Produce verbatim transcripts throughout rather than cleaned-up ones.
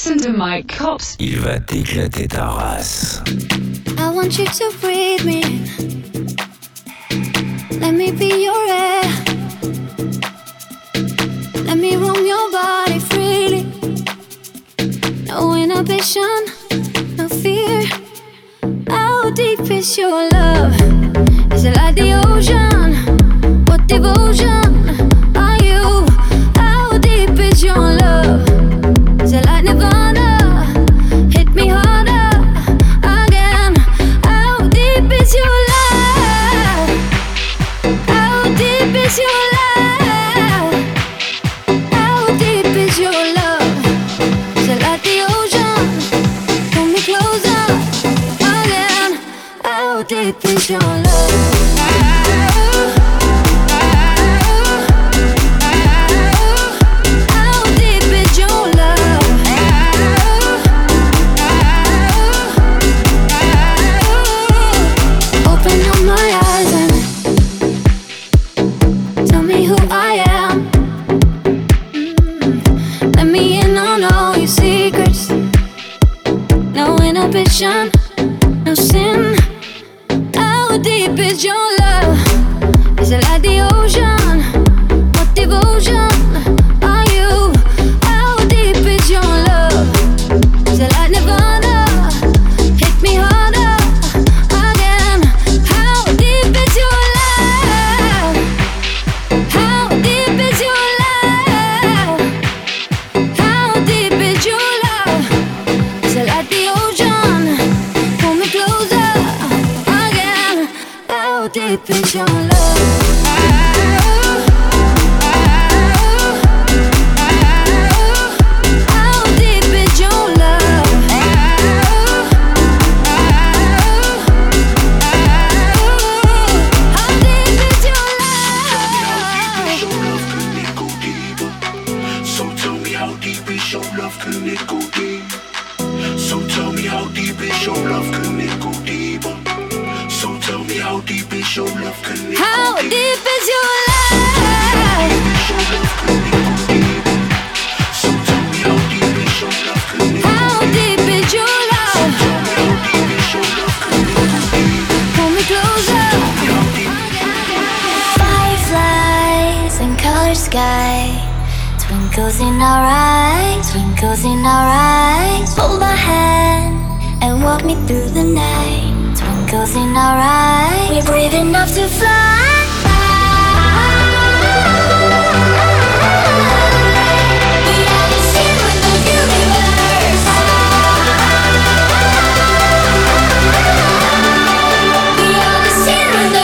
Listen to Mike Cops. Il va t'éclater ta race. I want you to breathe me. Let me be your air. Let me roam your body freely. No inhibition, no fear. How deep is your love? Is it like the ocean? What devotion are you? How deep is your love? Is it like Nirvana? Hit me harder again. How deep is your love? How deep is your love? How deep is your love? Is it like the ocean? Pull me closer again. How deep is your love? No sin. How deep is your love? Is it like the ocean? What devotion are you? How deep is your love? Is it like Nirvana? Hit me harder again. How deep is your love? How deep is your love? How deep is your love? Is it like the ocean? Pull me closer again. How deep is your love? How deep is your love? How deep is your love? So tell me how deep is your love? Can it go deep? So tell me how deep is your love? Can it go deeper? So tell me how deep is your love? Can it go deeper? How deep is your love? So tell me how deep is your love? Can it go How deep is your love? Pull me closer. Fireflies and color sky, twinkles in our eyes, twinkles in our eyes. Hold my hand and walk me through the night. Twinkles in our eyes, we're brave enough to fly. We are the secret of the universe. We are the secret of the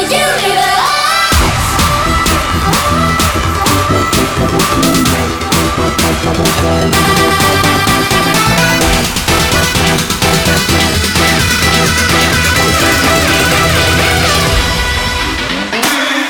universe.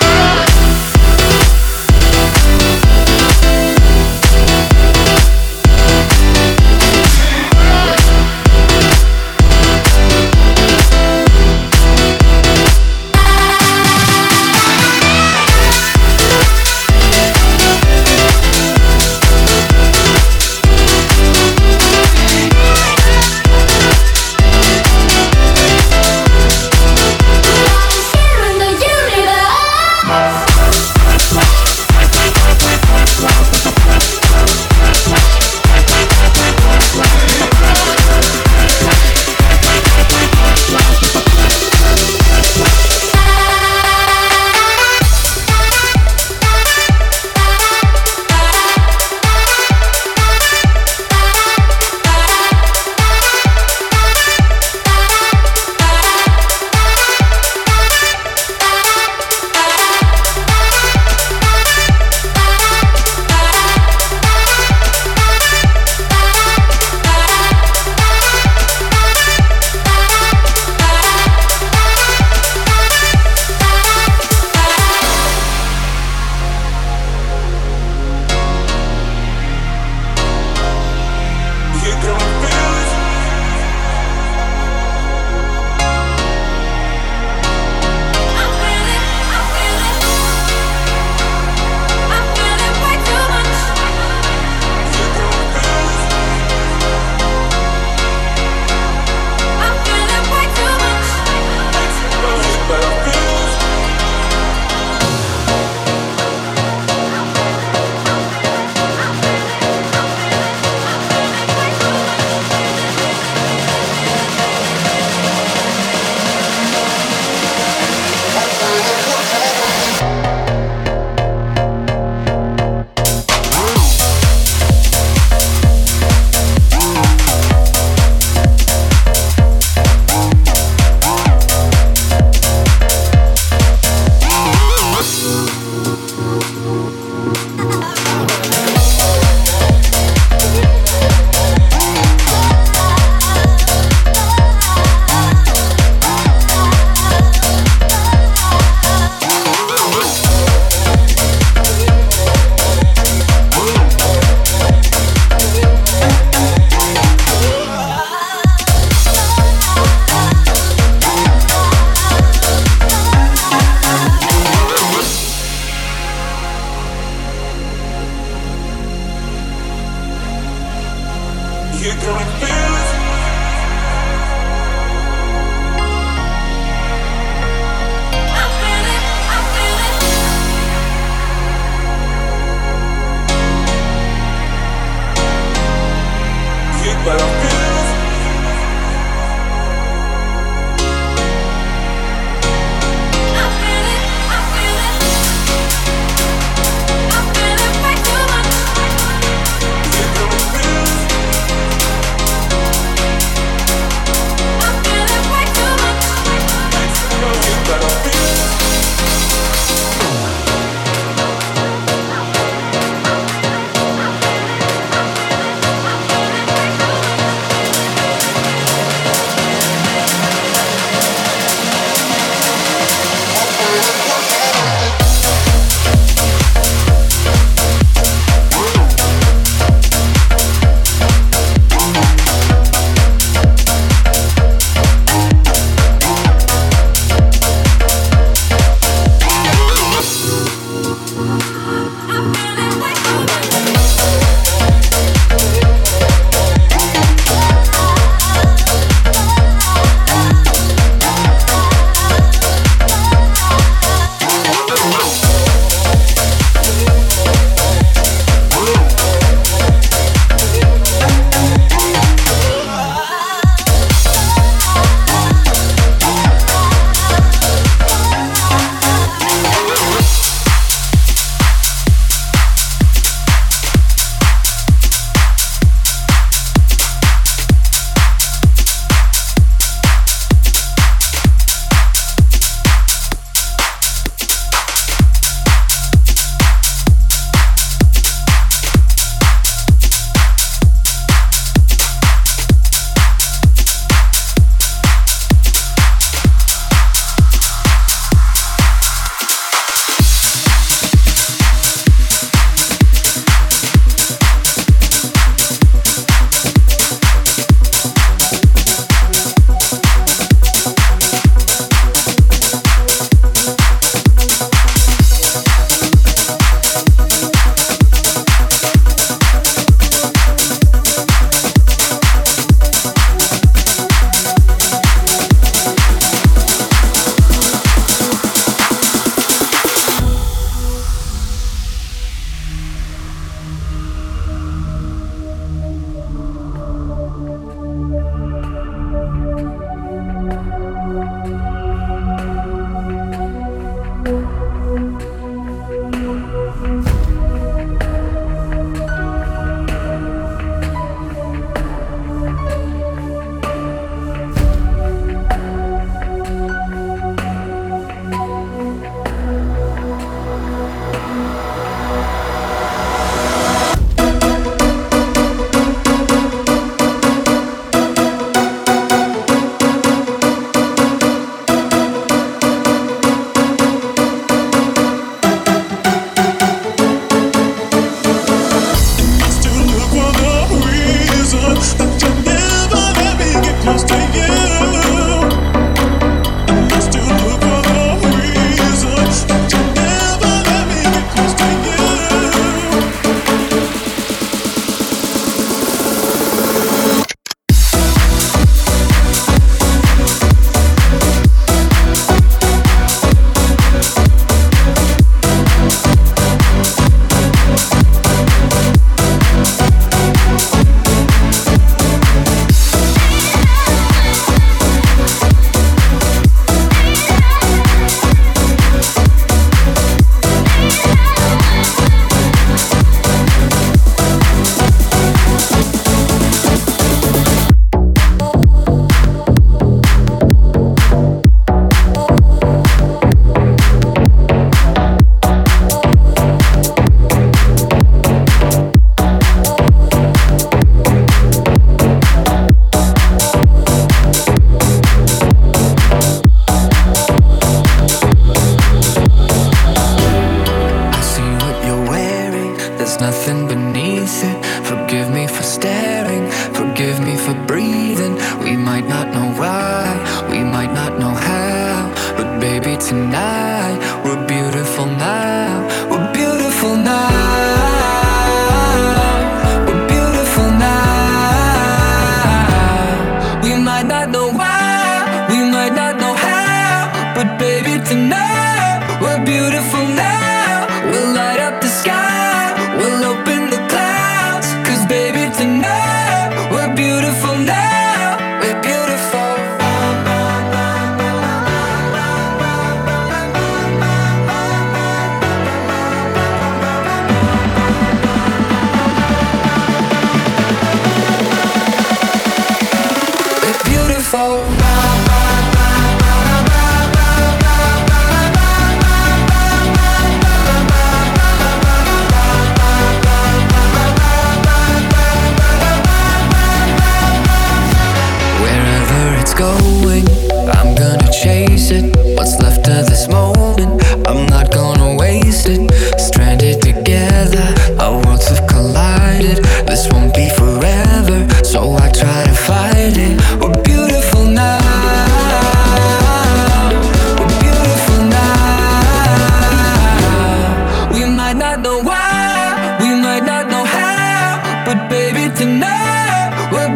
tonight. We're beautiful now. We're beautiful now. We're beautiful now.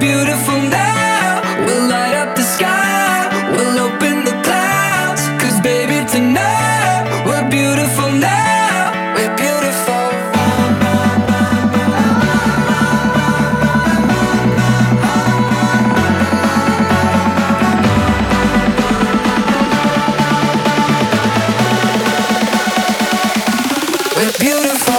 beautiful now. We'll light up the sky, we'll open the clouds. Cause baby tonight, we're beautiful now. We're beautiful. We're beautiful.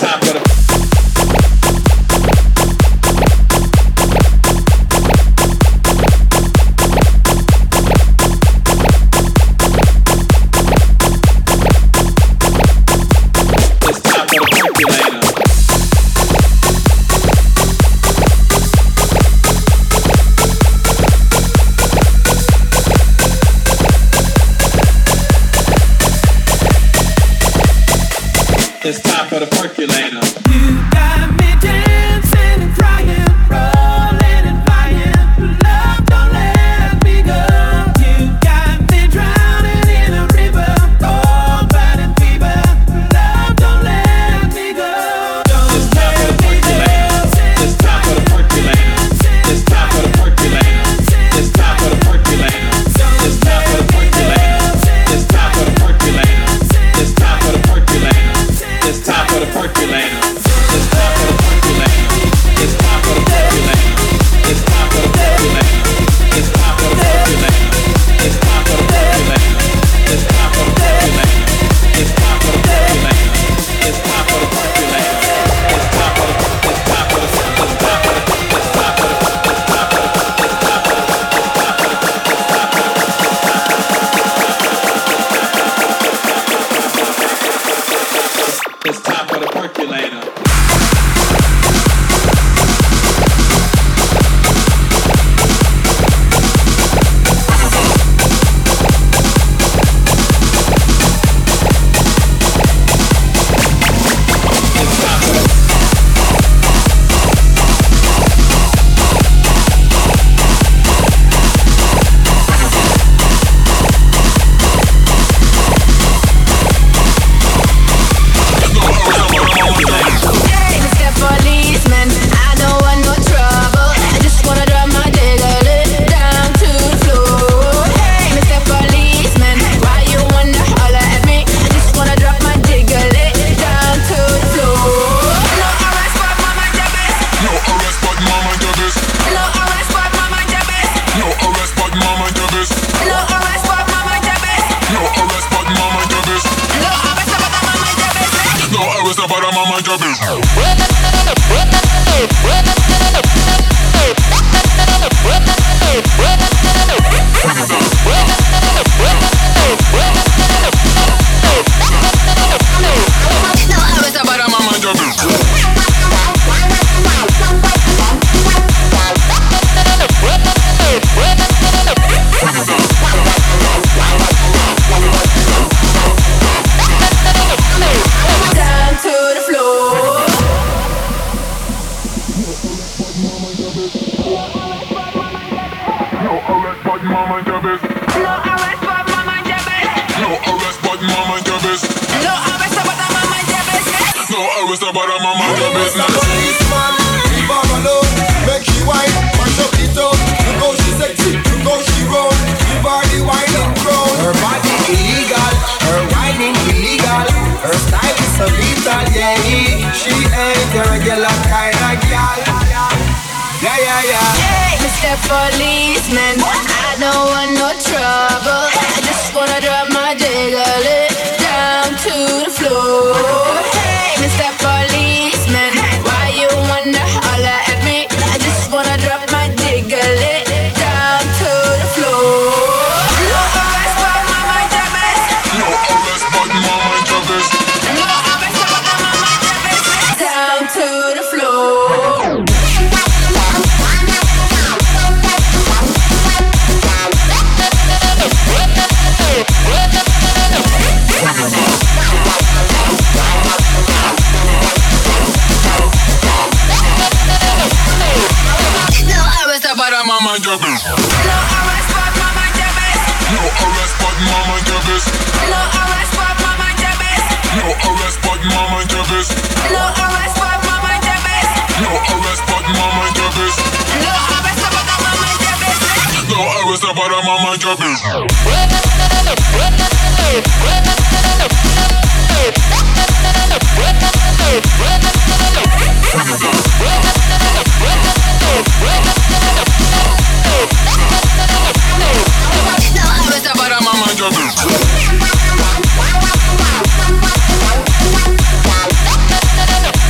It's time for the percolator. You got me dancing and crying, rolling and flying. Love, don't let me go. You got me drowning in a river, cold burning fever. Love, don't let me go. It's time for the percolator. It's time for the percolator. It's time for the percolator. It's time for the percolator. It's time for the percolator. It's time for the percolator. It's time for the percolator. It's time for the percolator. It's time for the percolator. It's time for the percolator. It's time for the percolator. It's time for the percolator. It's time for the percolator. It's time for the percolator. It's time for the percolator. It's time for the percolator. It's time for the it's time for the it's time for the it's time for the it's time for the it's time for the It's time for the percolator. Policeman, I don't want no trouble. I just wanna drop my jiggle down to the floor. Hey, Mister Policeman, why you wanna holler at me? I just wanna drop my jiggle down to the floor. No arrest, but mama jabez. No arrest, but mama jabez. No arrest, but mama jabez. Down to the floor. Mama jabez. No arrest, but mama jabez. No arrest, but mama jabez. No arrest, but mama jabez. No arrest, but mama jabez. No arrest, but mama jabez. No arrest, but mama jabez. No arrest, but mama jabez. No arrest, but mama jabez. Mama jabez.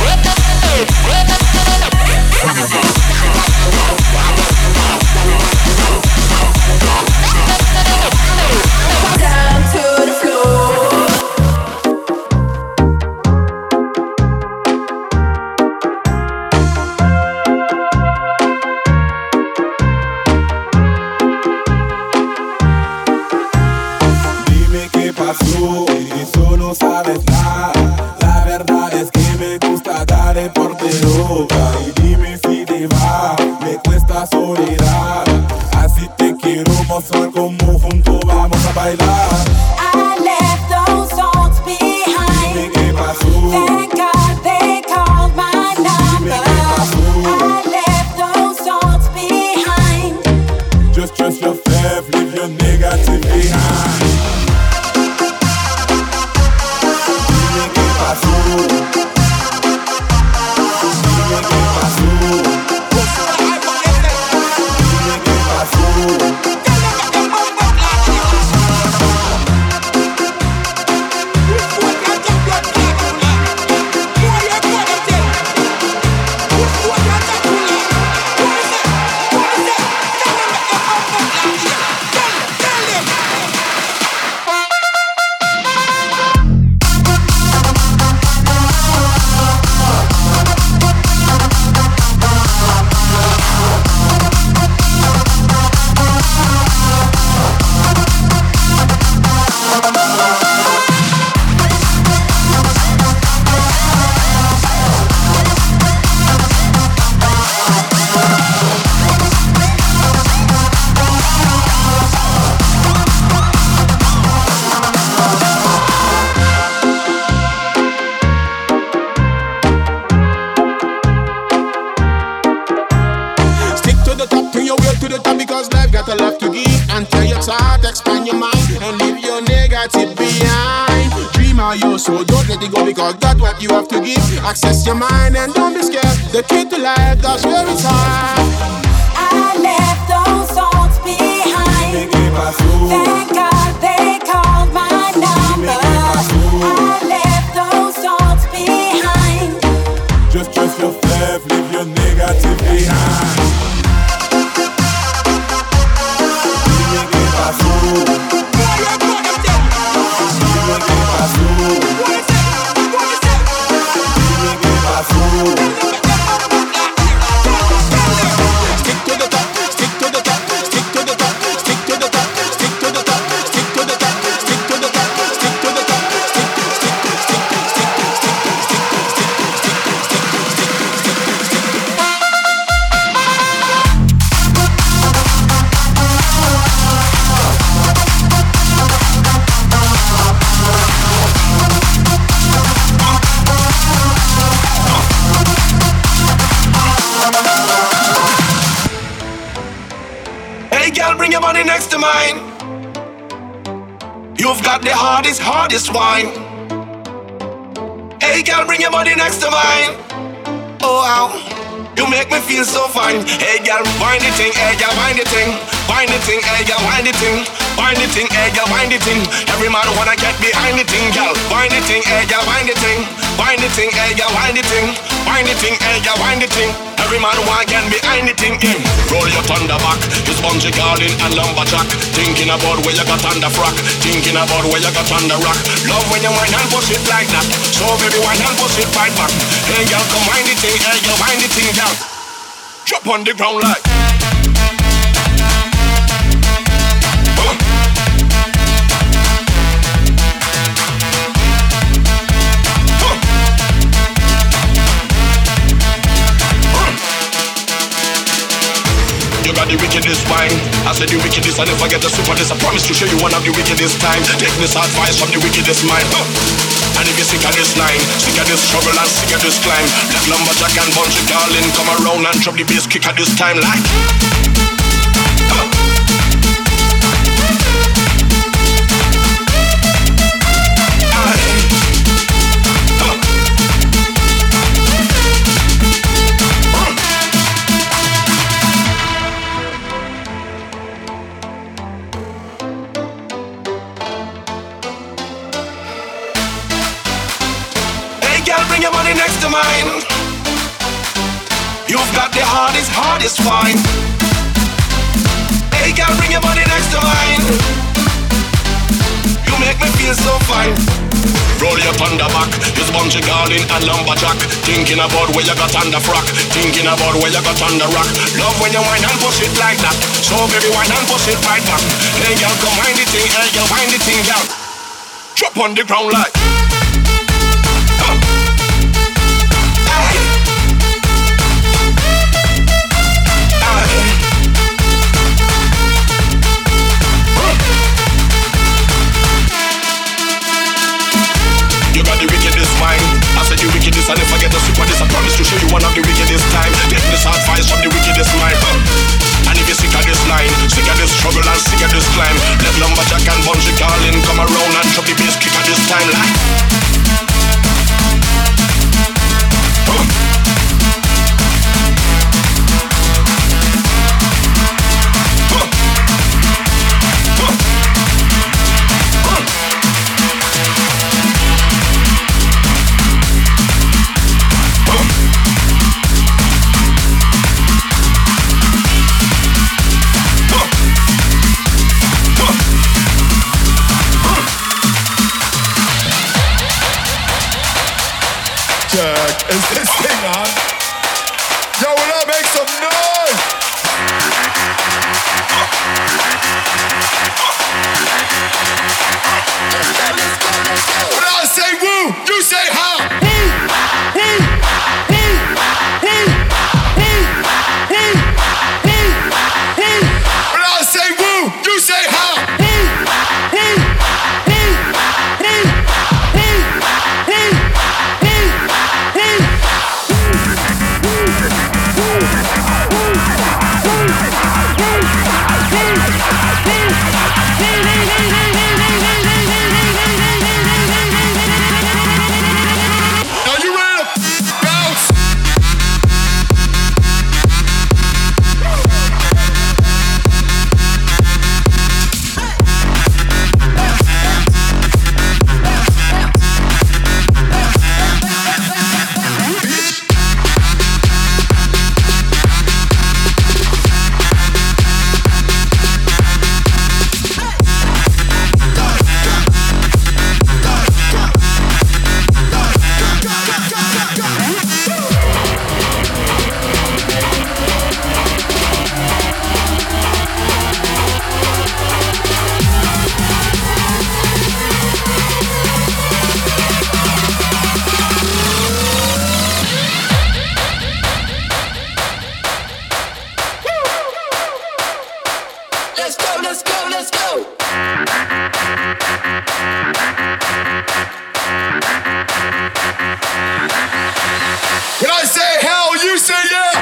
So don't let it go because that's what you have to give. Access your mind and don't be scared. The key to life, that's where it's at. I left those thoughts behind. Thank God they called my number. I left those thoughts behind. Just trust your flav, leave your negative behind. Dime qué pasó. Dime qué pasó. Dime qué pasó. Stick to the top, stick to the top, stick to the top, stick to the top, stick to the top, stick to the top, stick to the top, stick to the top, stick to stick to stick to stick to stick to stick to stick to stick to stick to stick to stick to Hey girl, bring your body next to mine. You've got the hardest, hardest wine. Hey girl, bring your body next to mine. Oh wow, you make me feel so fine. Hey girl, wind the thing, hey girl, wind the thing. Wind the thing, hey girl, wind the thing. Wind the thing, hey girl, wind the thing. Every man wanna get behind the thing, girl. Wind the thing, hey girl, wind the thing. Wind the thing, hey girl, wind the thing. Wind the thing, hey girl, wind the thing. Every man want get behind the thing, in. Roll your thunder back. It's bungee calling and lumberjack. Thinking about where you got under frack. Thinking about where you got under rock. Love when you wind and push it like that. So baby, wind and push it right back. Hey girl, come wind the thing, hey girl, wind the thing, girl. Drop on the ground like. You got the wickedest wine. I said the wickedest, I never get the super this. I promise to show you one of the wickedest time. Take this advice from the wickedest mind. Huh. And if you're sick of this line, sick of this struggle and sick of this climb, let lumberjack and bungee darling come around and drop the bass kick at this time like. Huh. Bring your money next to mine. You've got the hardest, hardest wine. Hey girl, bring your money next to mine. You make me feel so fine. Roll your thunder back. It's bungee calling and lumberjack. Thinking about where you got under frack. Thinking about where you got under rock. Love when you wind and push it like that. So baby, wind and push it right back. Hey girl, come wind the thing. Hey girl, wind the thing, girl. Drop on the ground like. You got the wickedest mind. I said you wickedest, I never get the super this. I promise to show you one of the wickedest time. Take this advice from the wickedest mind. Huh. And if you're sick of this line, sick of this struggle and sick of this climb, let lumberjack and bungee darling come around and drop the bass kick at this time like. Huh. Is this thing on? Yo, will I make some noise? When I say woo, you say how? When I say woo, you say how? When I say hell, you say yeah.